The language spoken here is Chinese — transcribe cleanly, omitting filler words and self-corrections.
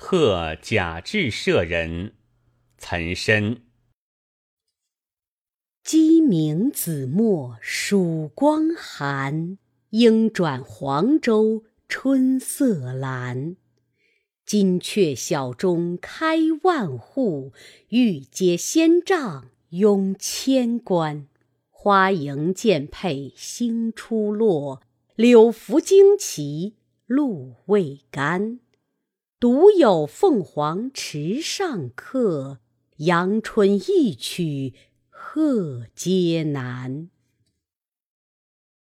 贺贾至舍人。岑参。 鸡鸣子墨曙光寒，莺转黄州春色阑。金阙小钟开万户，玉阶仙帐拥千官。花迎剑佩星初落，柳拂旌旗露未干。独有凤凰池上客，阳春一曲贺阶难。